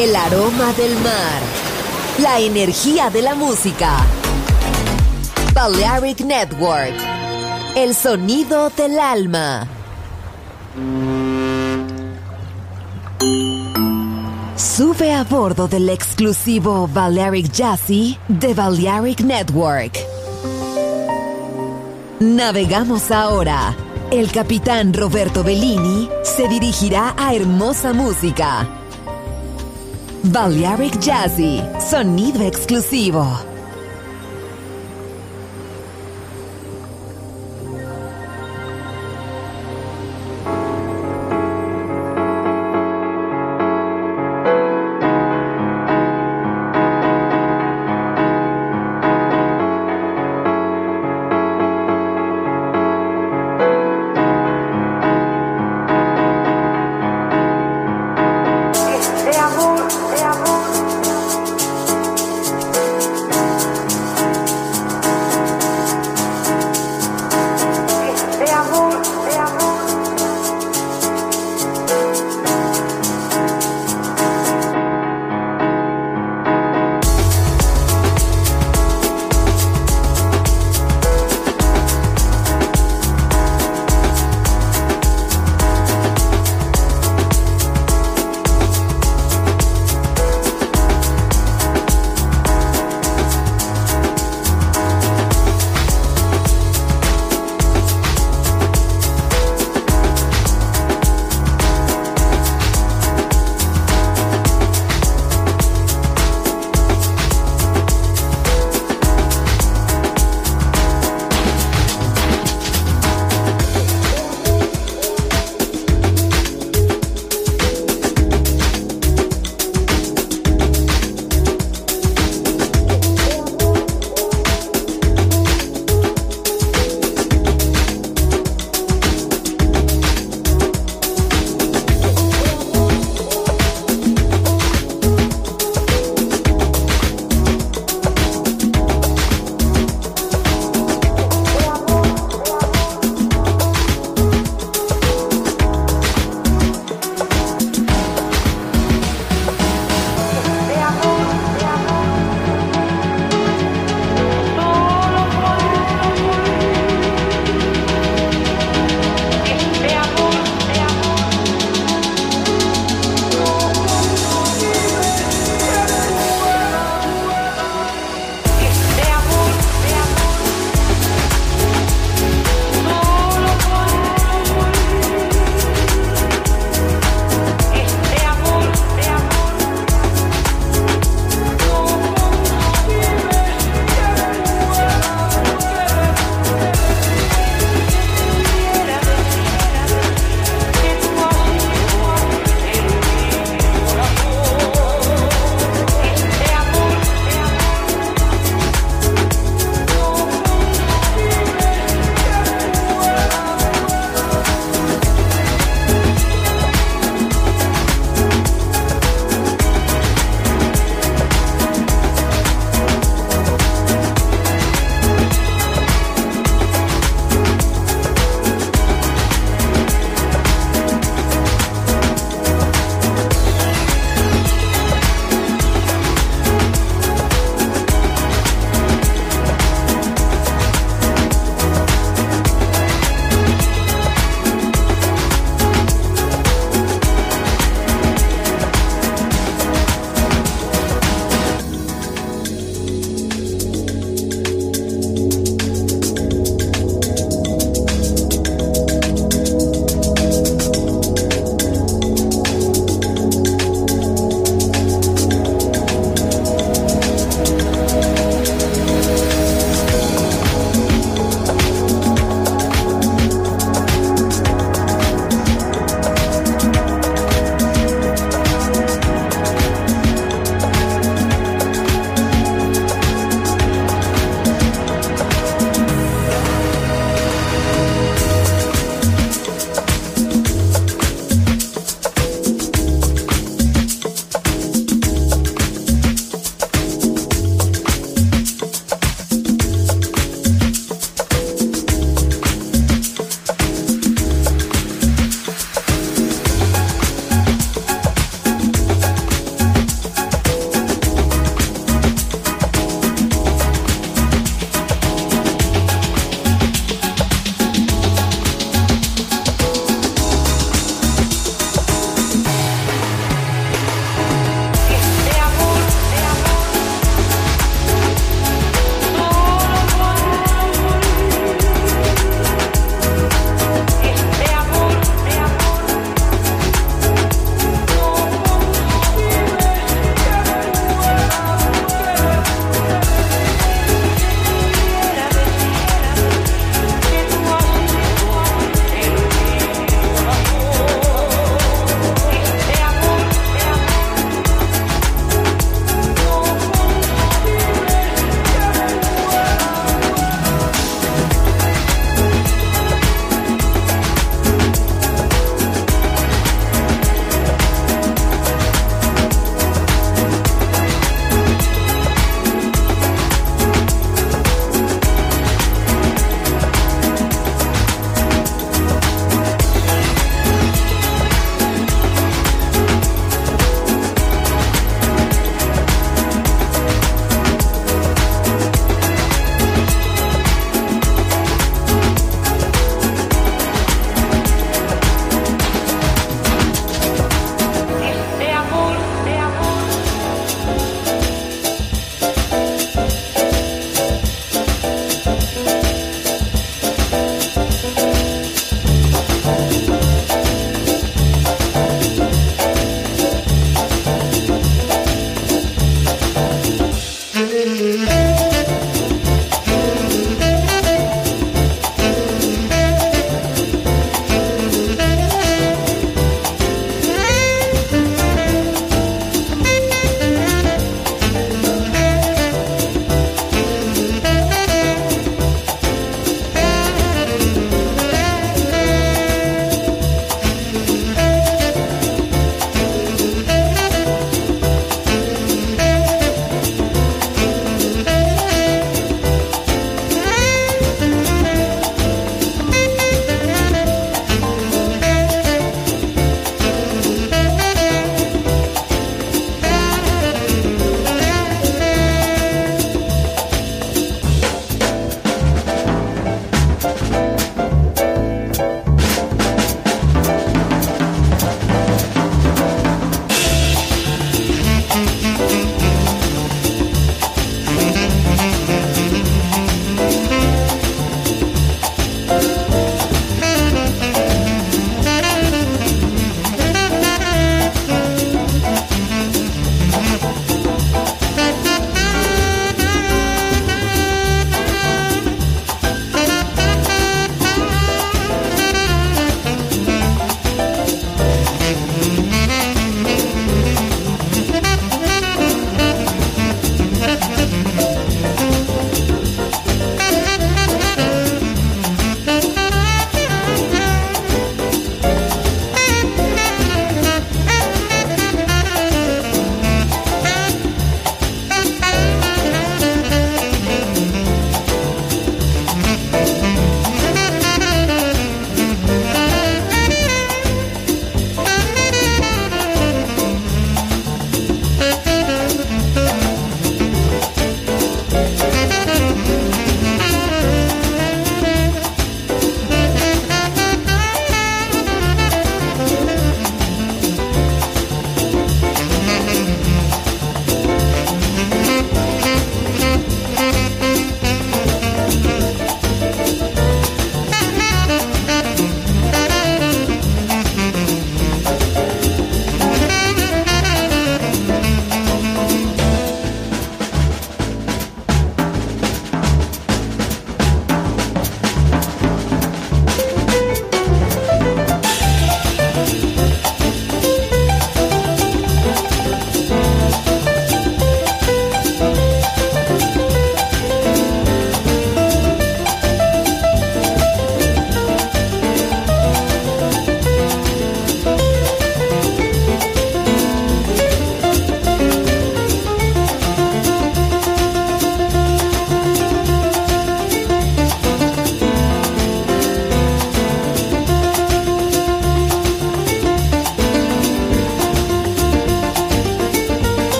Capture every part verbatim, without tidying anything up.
El aroma del mar. La energía de la música. Balearic Network. El sonido del alma. Sube a bordo del exclusivo Balearic Jazzy de Balearic Network. Navegamos ahora. El capitán Roberto Bellini se dirigirá a hermosa música. Balearic Jazzy, sonido exclusivo.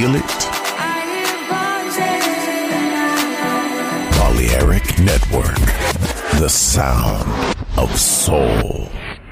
feel it? Balearic Network, the sound of soul.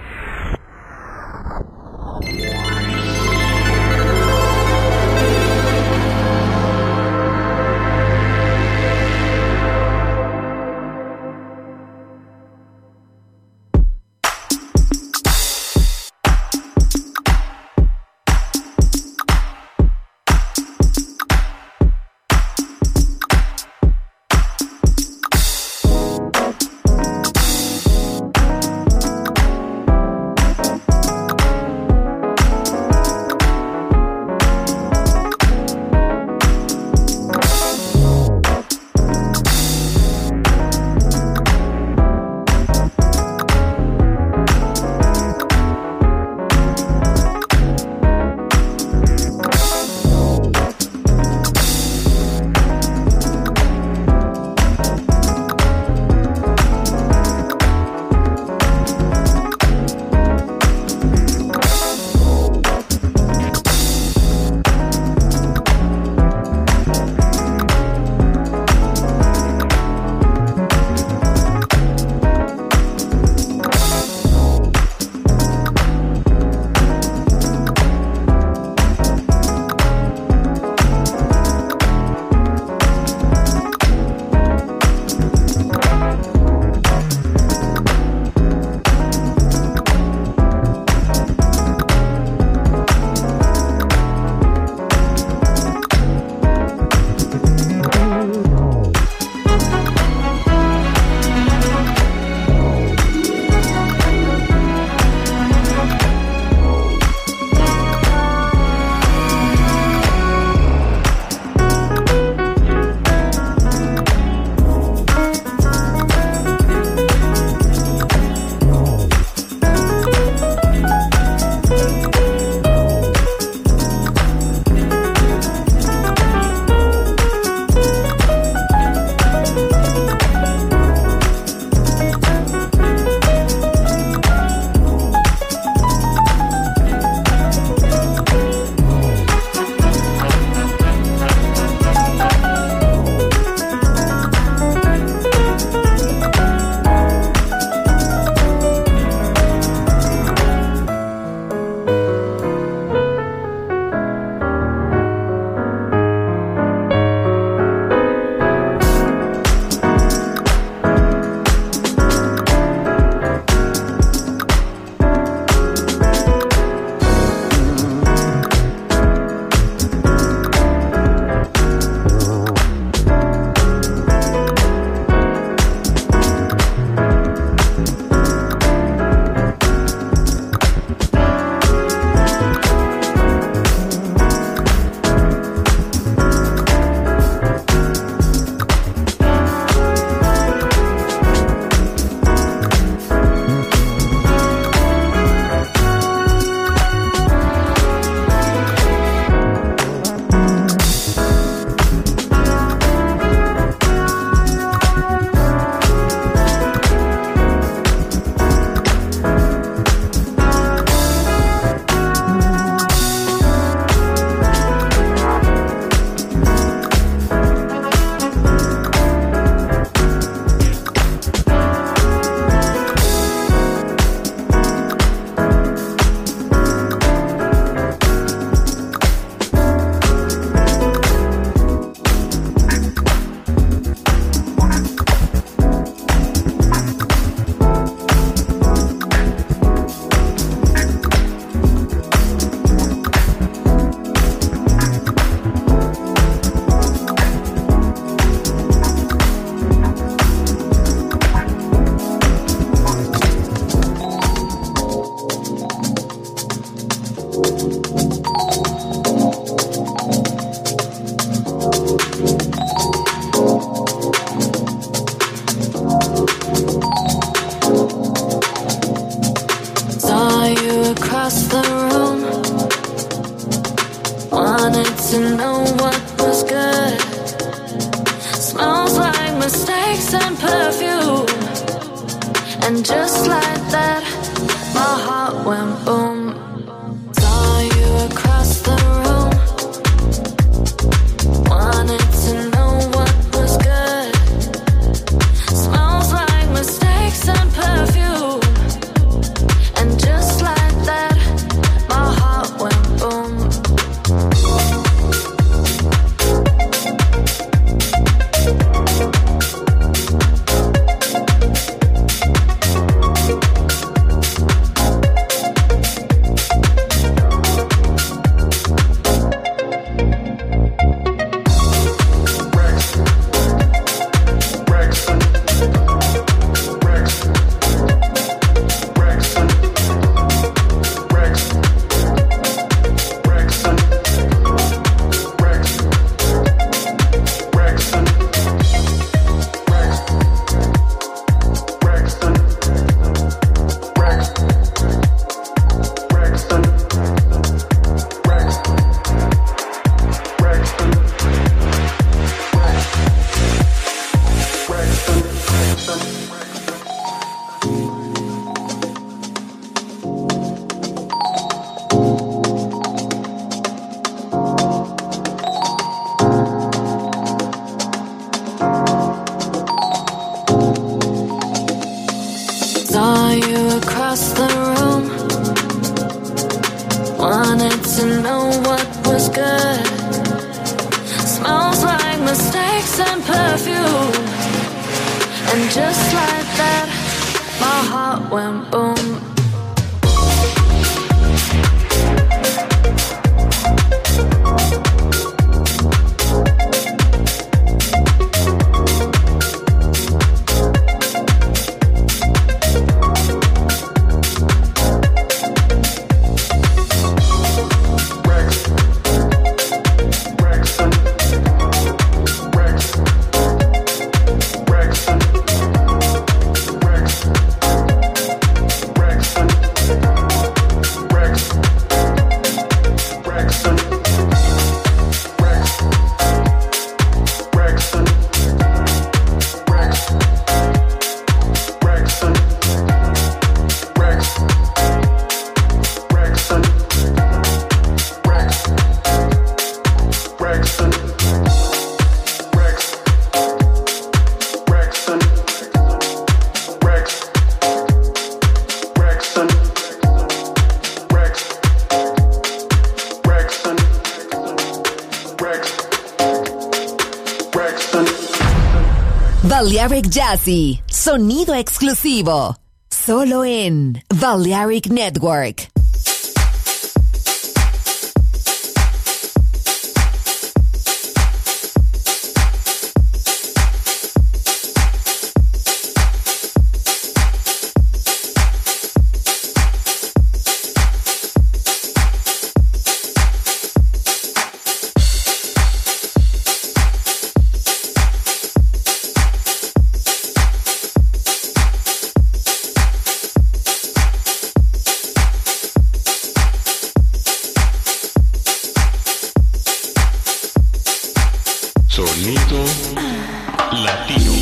to know what was good. Smells like mistakes and perfume. And just like that, my heart went boom. Saw you across the room. Wanted to know what was good. Smells like mistakes and perfume. And just like that, my heart went boom. Balearic Jazzy, sonido exclusivo, solo en Balearic Network. Sonido latino.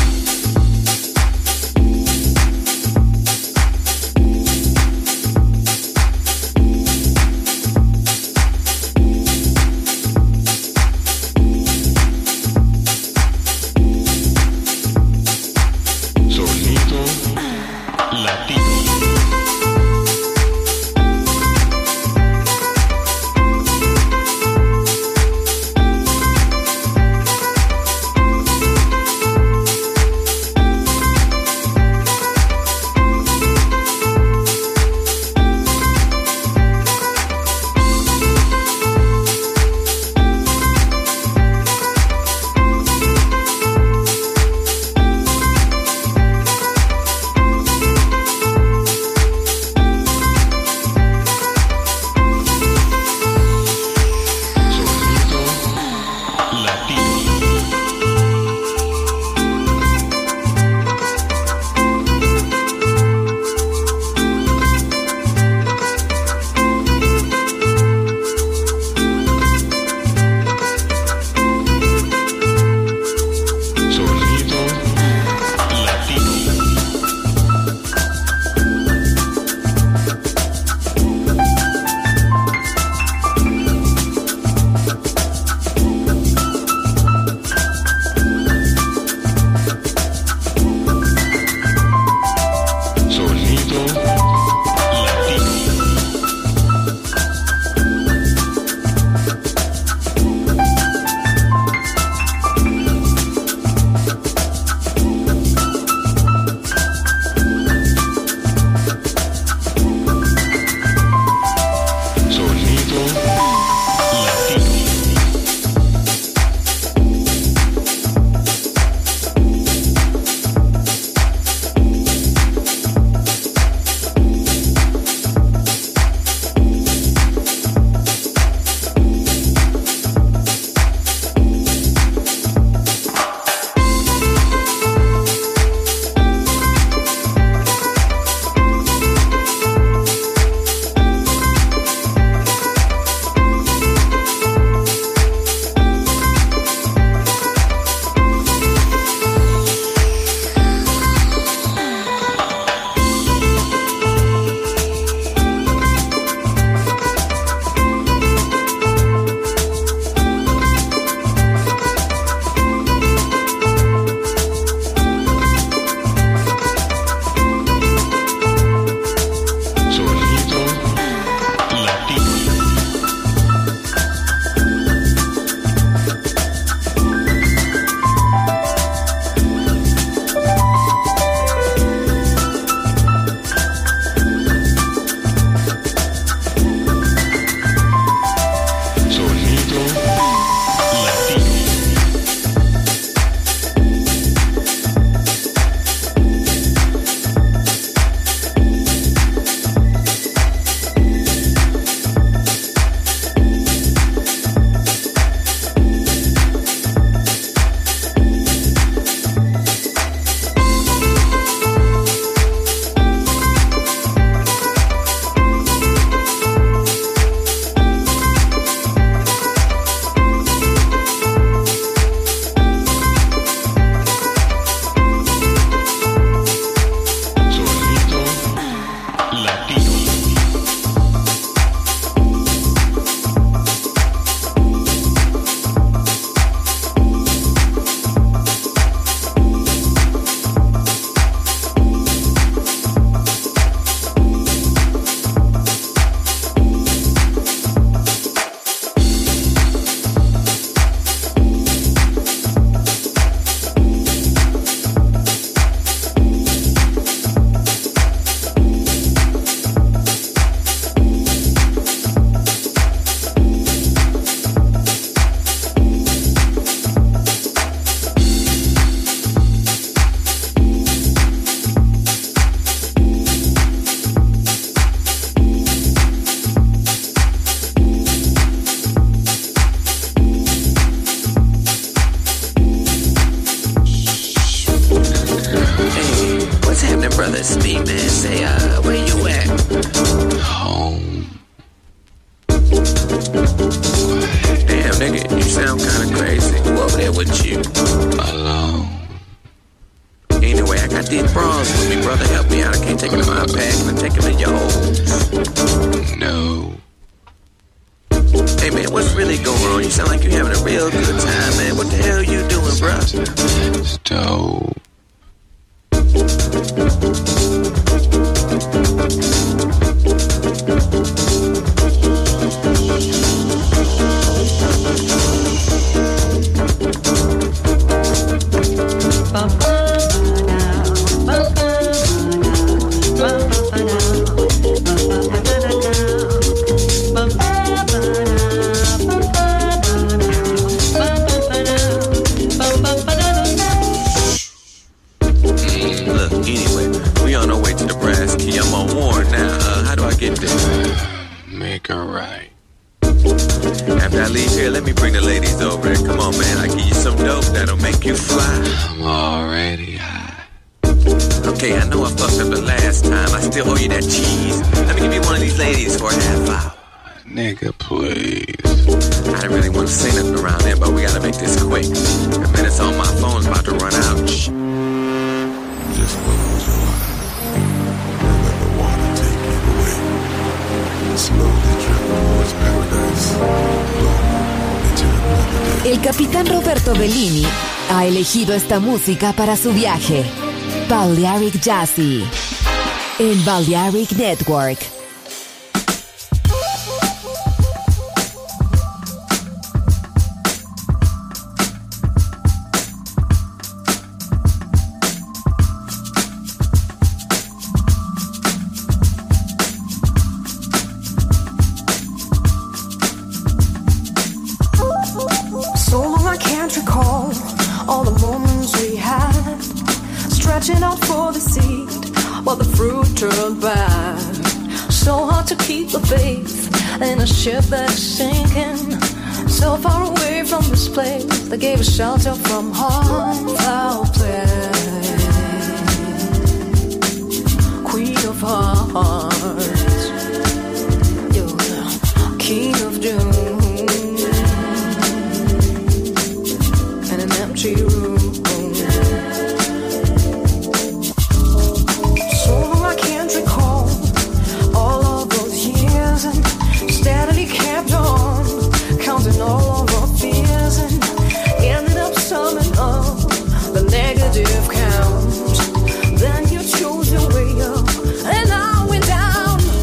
Sonido latino. No. Hey man, what's really going on? You sound like you're having a real good time, man. What the hell are you doing, bro? It's dope. Make her right. After I leave here, let me bring the ladies over there. Come on, man. I give you some dope that'll make you fly. I'm already high. Okay, I know I fucked up the last time. I still owe you that cheese. Let me give you one of these ladies for a half hour. Nigga, please. I didn't really want to say nothing around there, but we gotta make this quick. The minutes on my phone's about to run out. Shh. Just close your eyes and let the water take you away. Slowly drift towards paradise. Flow into another day. El capitán Roberto Bellini ha elegido esta música para su viaje. Balearic Jazzy en Balearic Network. Stretching out for the seed while the fruit turned bad. So hard to keep the faith in a ship that is sinking. So far away from this place that gave us shelter from harm, foul play. Queen of hearts, you're the king of doom. In an empty room. Steadily kept on counting all of our fears and ended up summing up the negative count. Then you chose your way up and I went down.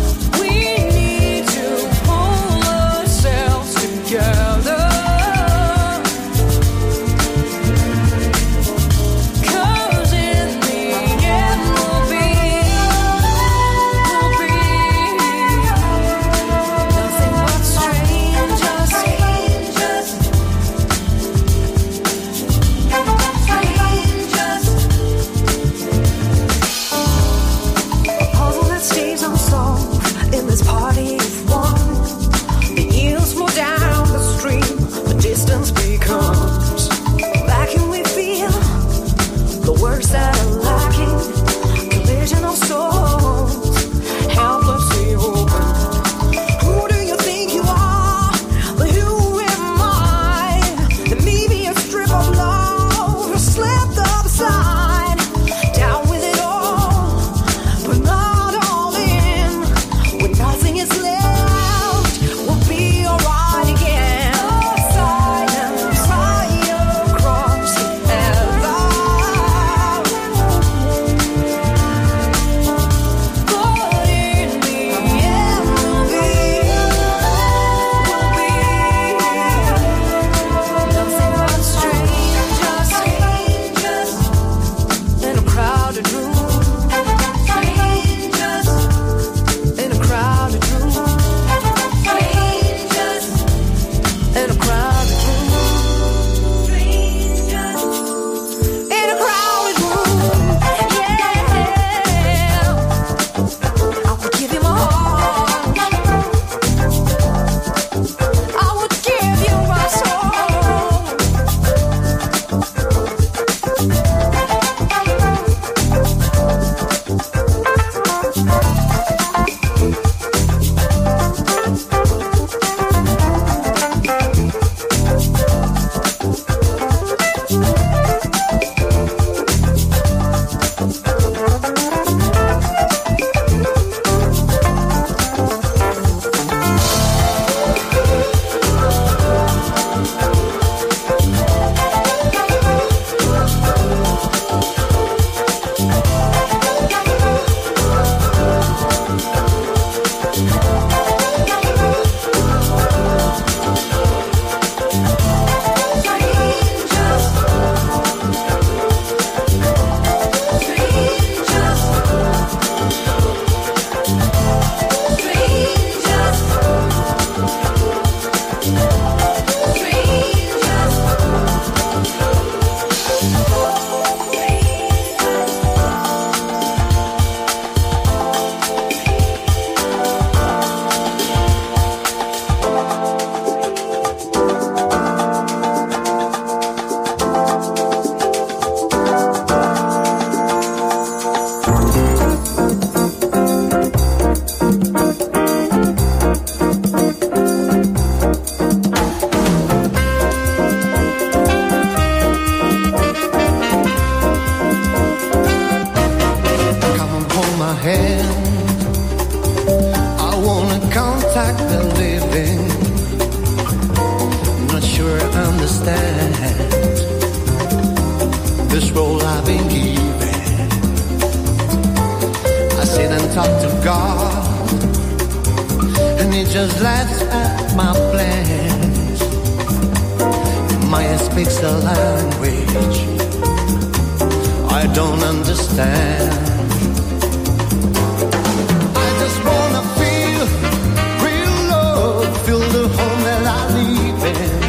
me just laughs at my plans. Maya speaks a language I don't understand. I just wanna feel real love, feel the home that I live in.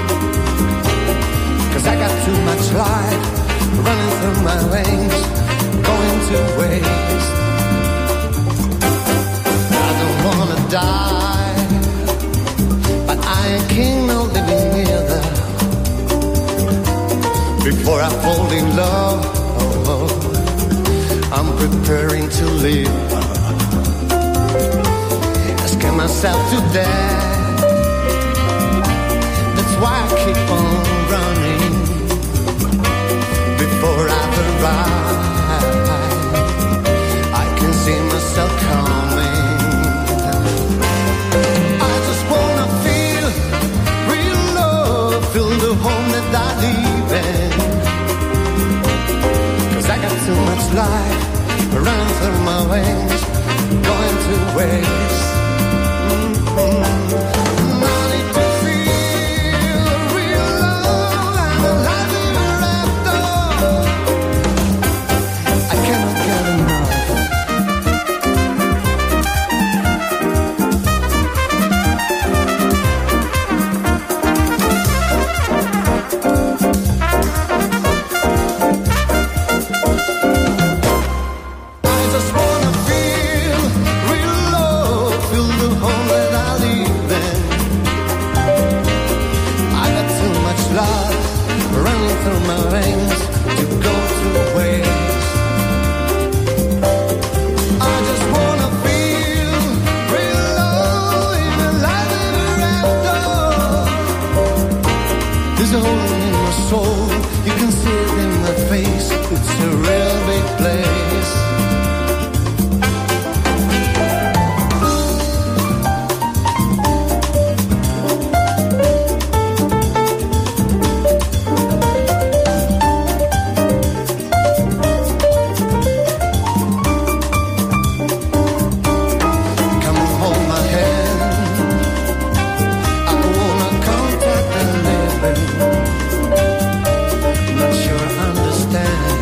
'Cause I got too much life running through my veins, going to waste. I don't wanna die, but I ain't king, no living either. Before I fall in love, oh, oh, I'm preparing to live. I scare myself to death. That's why I keep on running. Before I arrive, I can see myself coming. I just wanna feel real love, feel the home that I live in. 'Cause I got too much life running through my veins, going to waste. Mm-hmm. I need to feel real love and alive ever after. I cannot get enough. I just wanna feel real love, feel the home that I live in. I got too much love running through my veins to go to waste. I just wanna feel real love in the life ever after. There's a hole in my soul, you can see it in my face. It's a real big place. Come and hold my hand. I wanna contact the living. Not sure I understand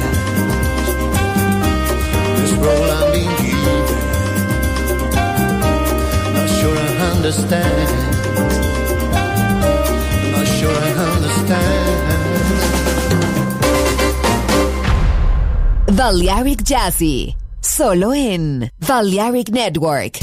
this role I'm being given. Not sure I understand. Not sure I understand. Balearic Jazzy, solo en Balearic Network.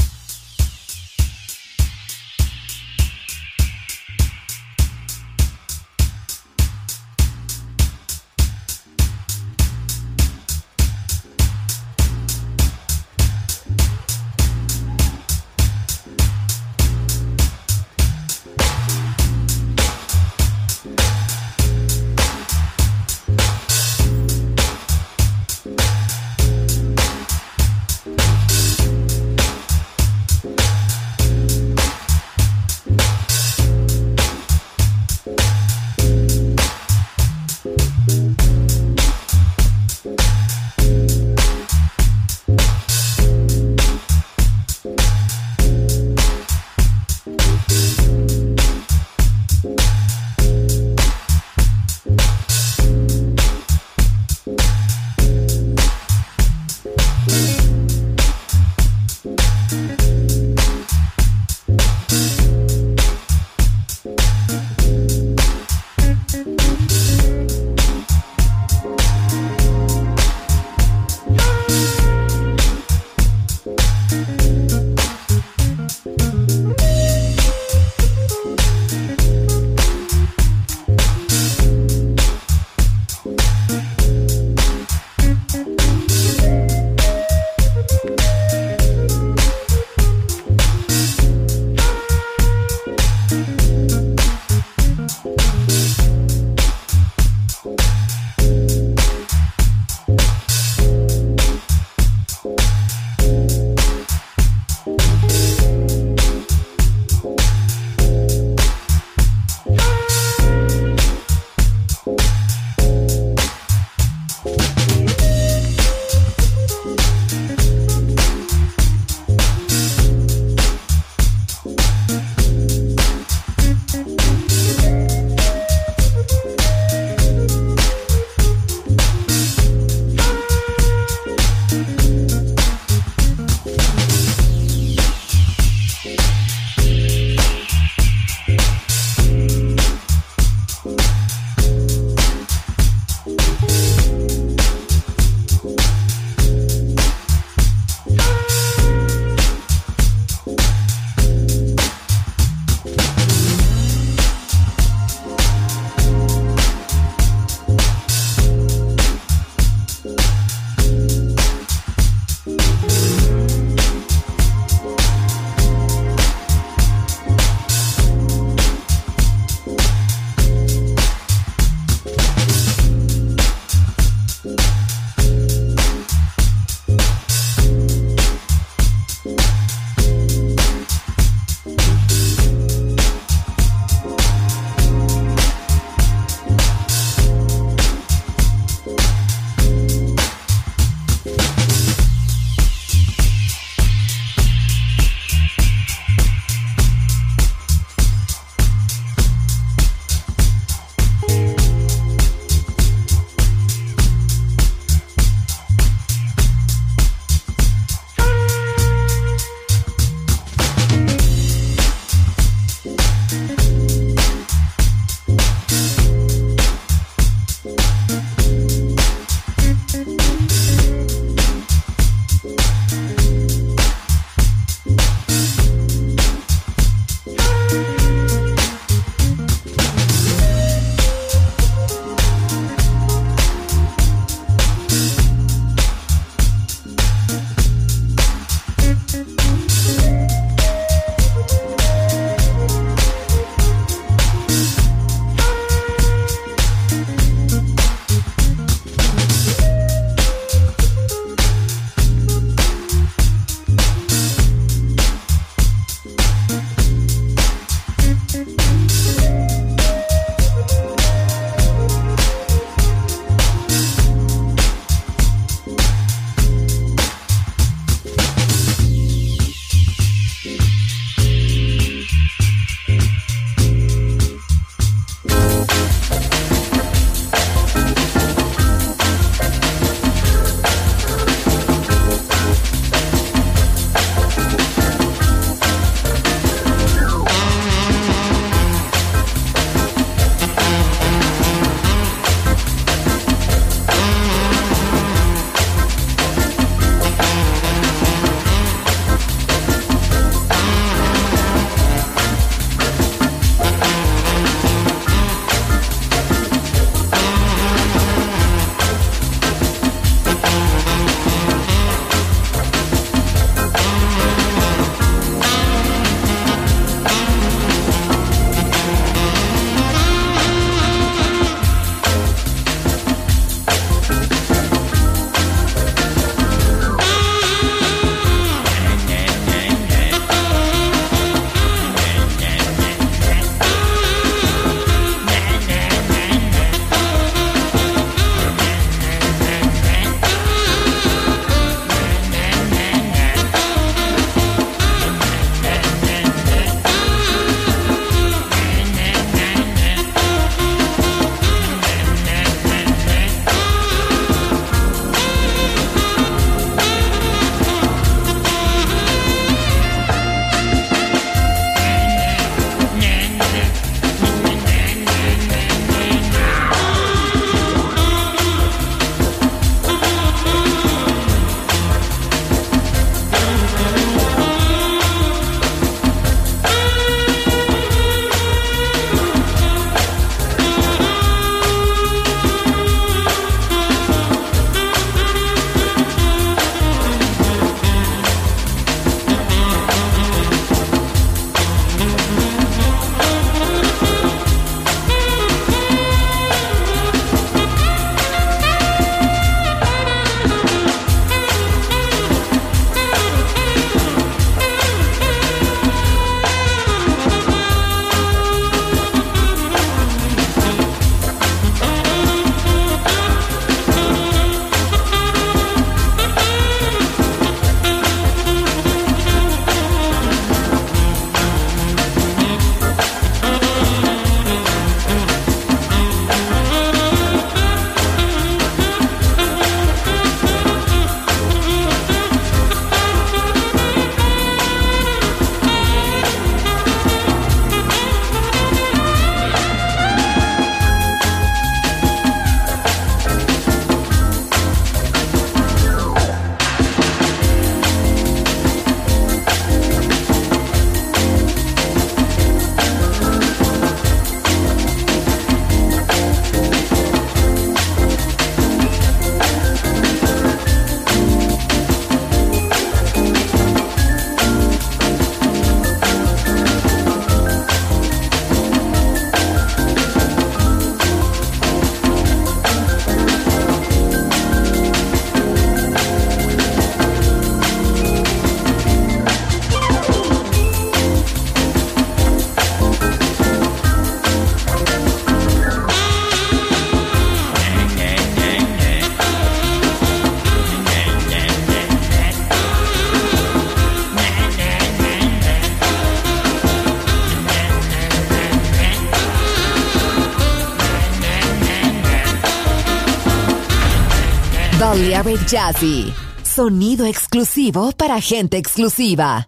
Balearic Jazzy. Sonido exclusivo para gente exclusiva.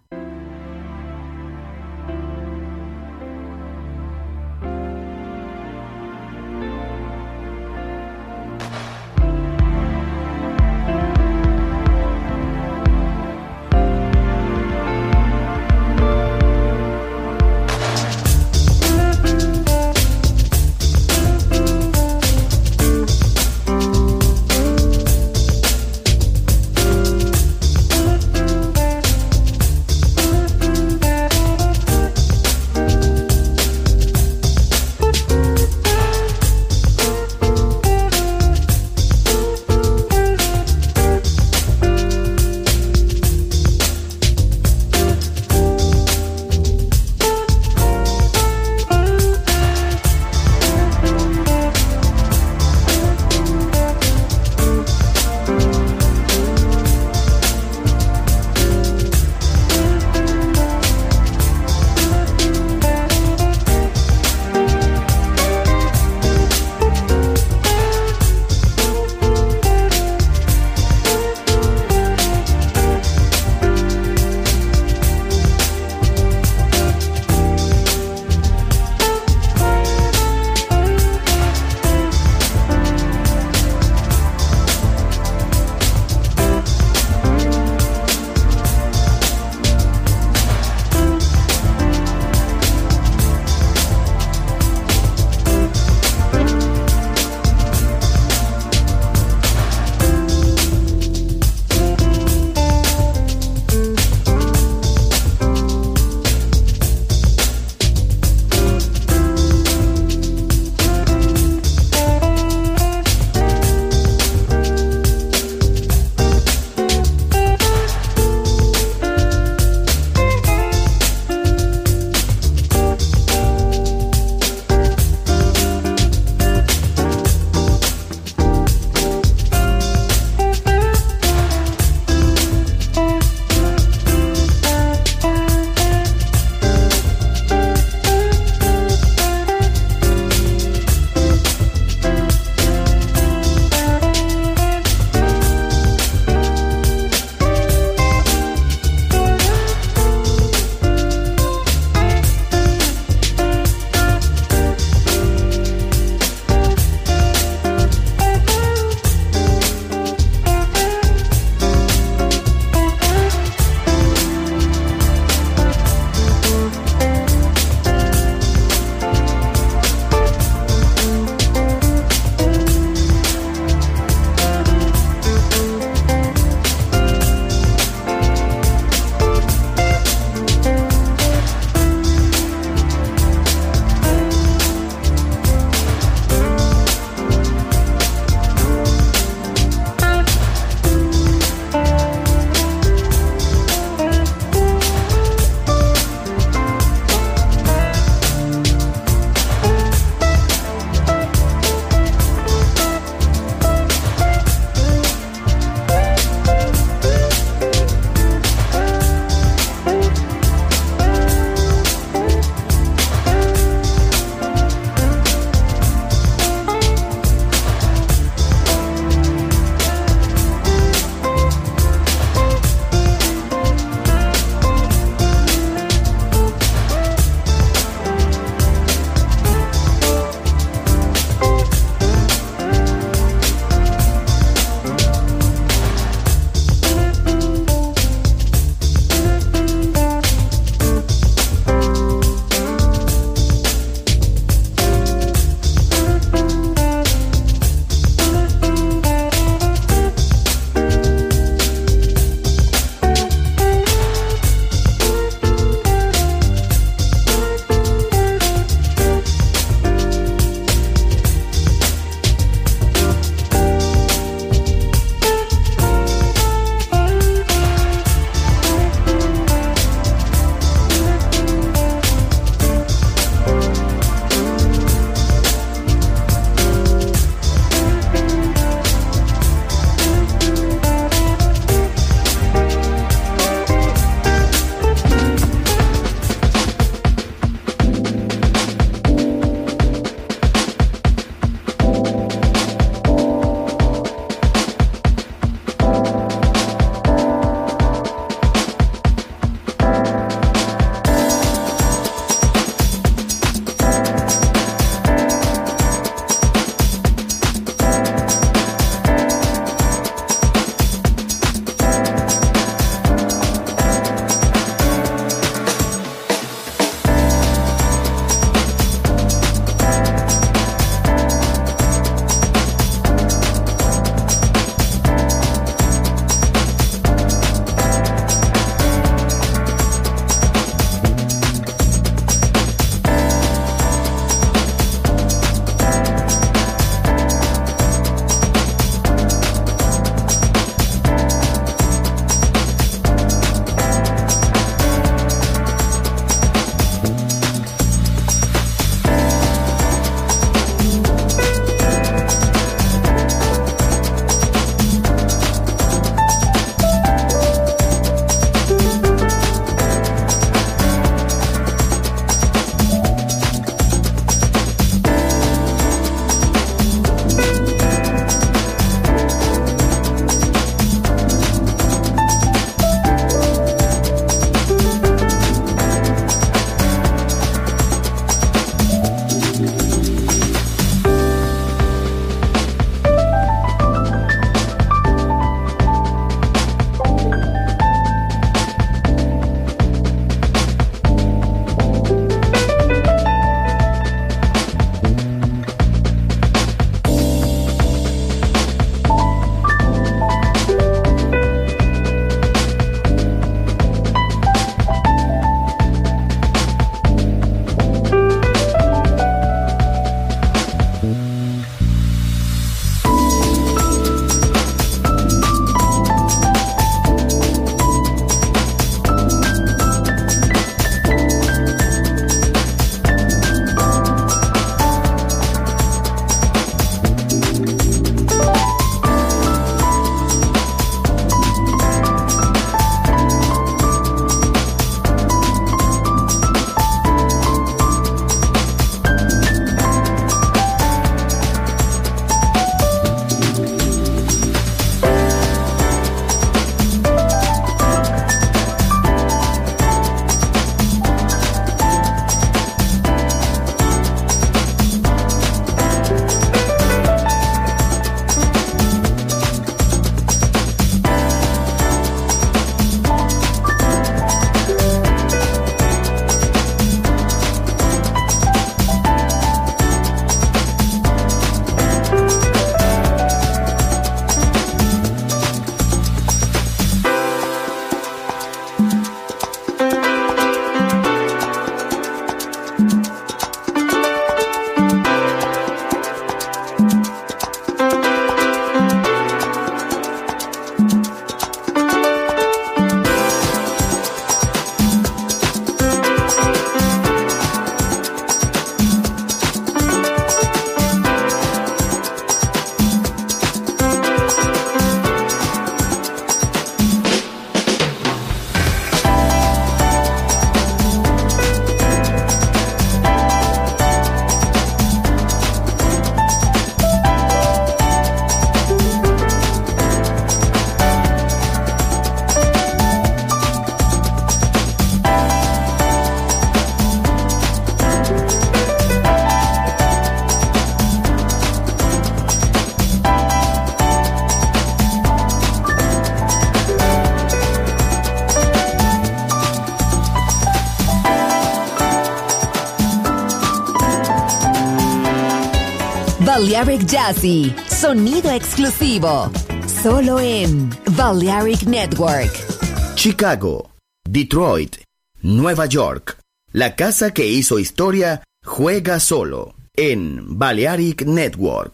Balearic Jazzy, sonido exclusivo, solo en Balearic Network. Chicago, Detroit, Nueva York. La casa que hizo historia juega solo en Balearic Network.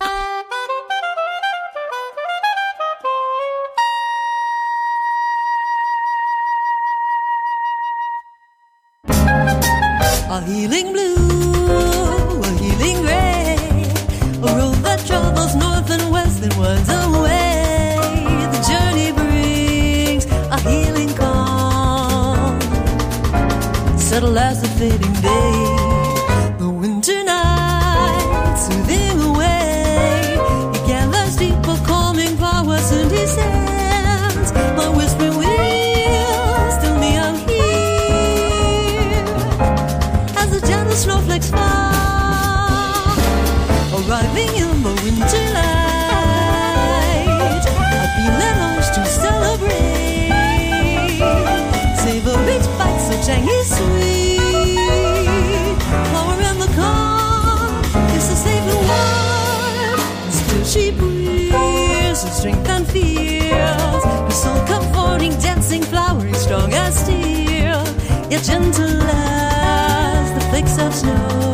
A healing blue, a healing gray, a road that travels north and west and winds away. The journey brings a healing calm, subtle as the fading day. The winter night soothing away, he gathers deeper calming powers and descends. My whispering wheels tell me I'm here as the gentle snowflakes fall, arriving in the winter light. I feel an urge to celebrate, savor each bite so tangy sweet. Flower in the calm, it's so safe and warm. And still she breathes her strength and feels, her soul comforting, dancing, flowering, strong as steel, yet gentle as the flakes of snow.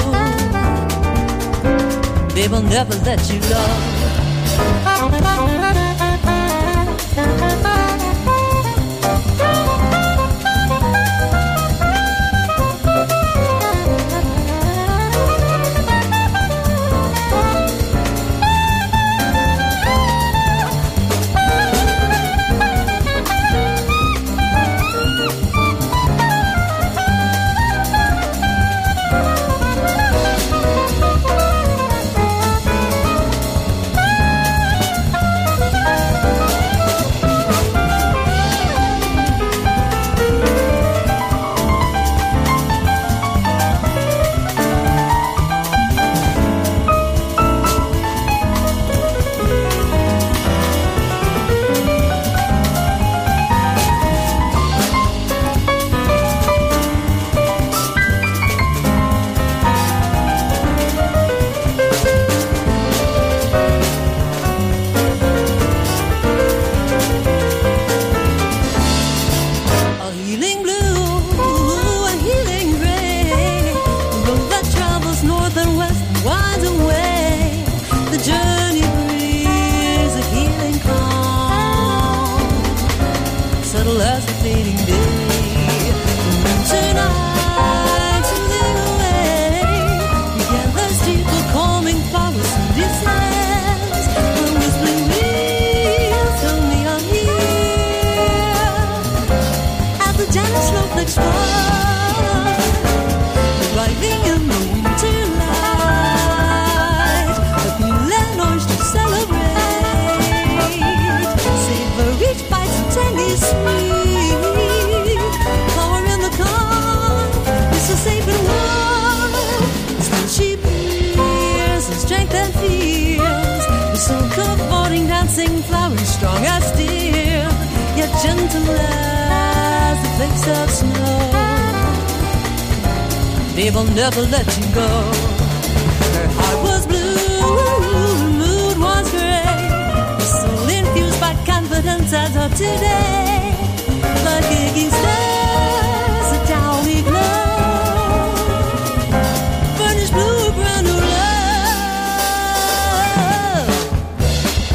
They will never let you go. Strong as steel, yet gentle as the flakes of snow. They will never let you go. Her heart was blue, her mood was gray, her soul infused by confidence as of today. Like aching stars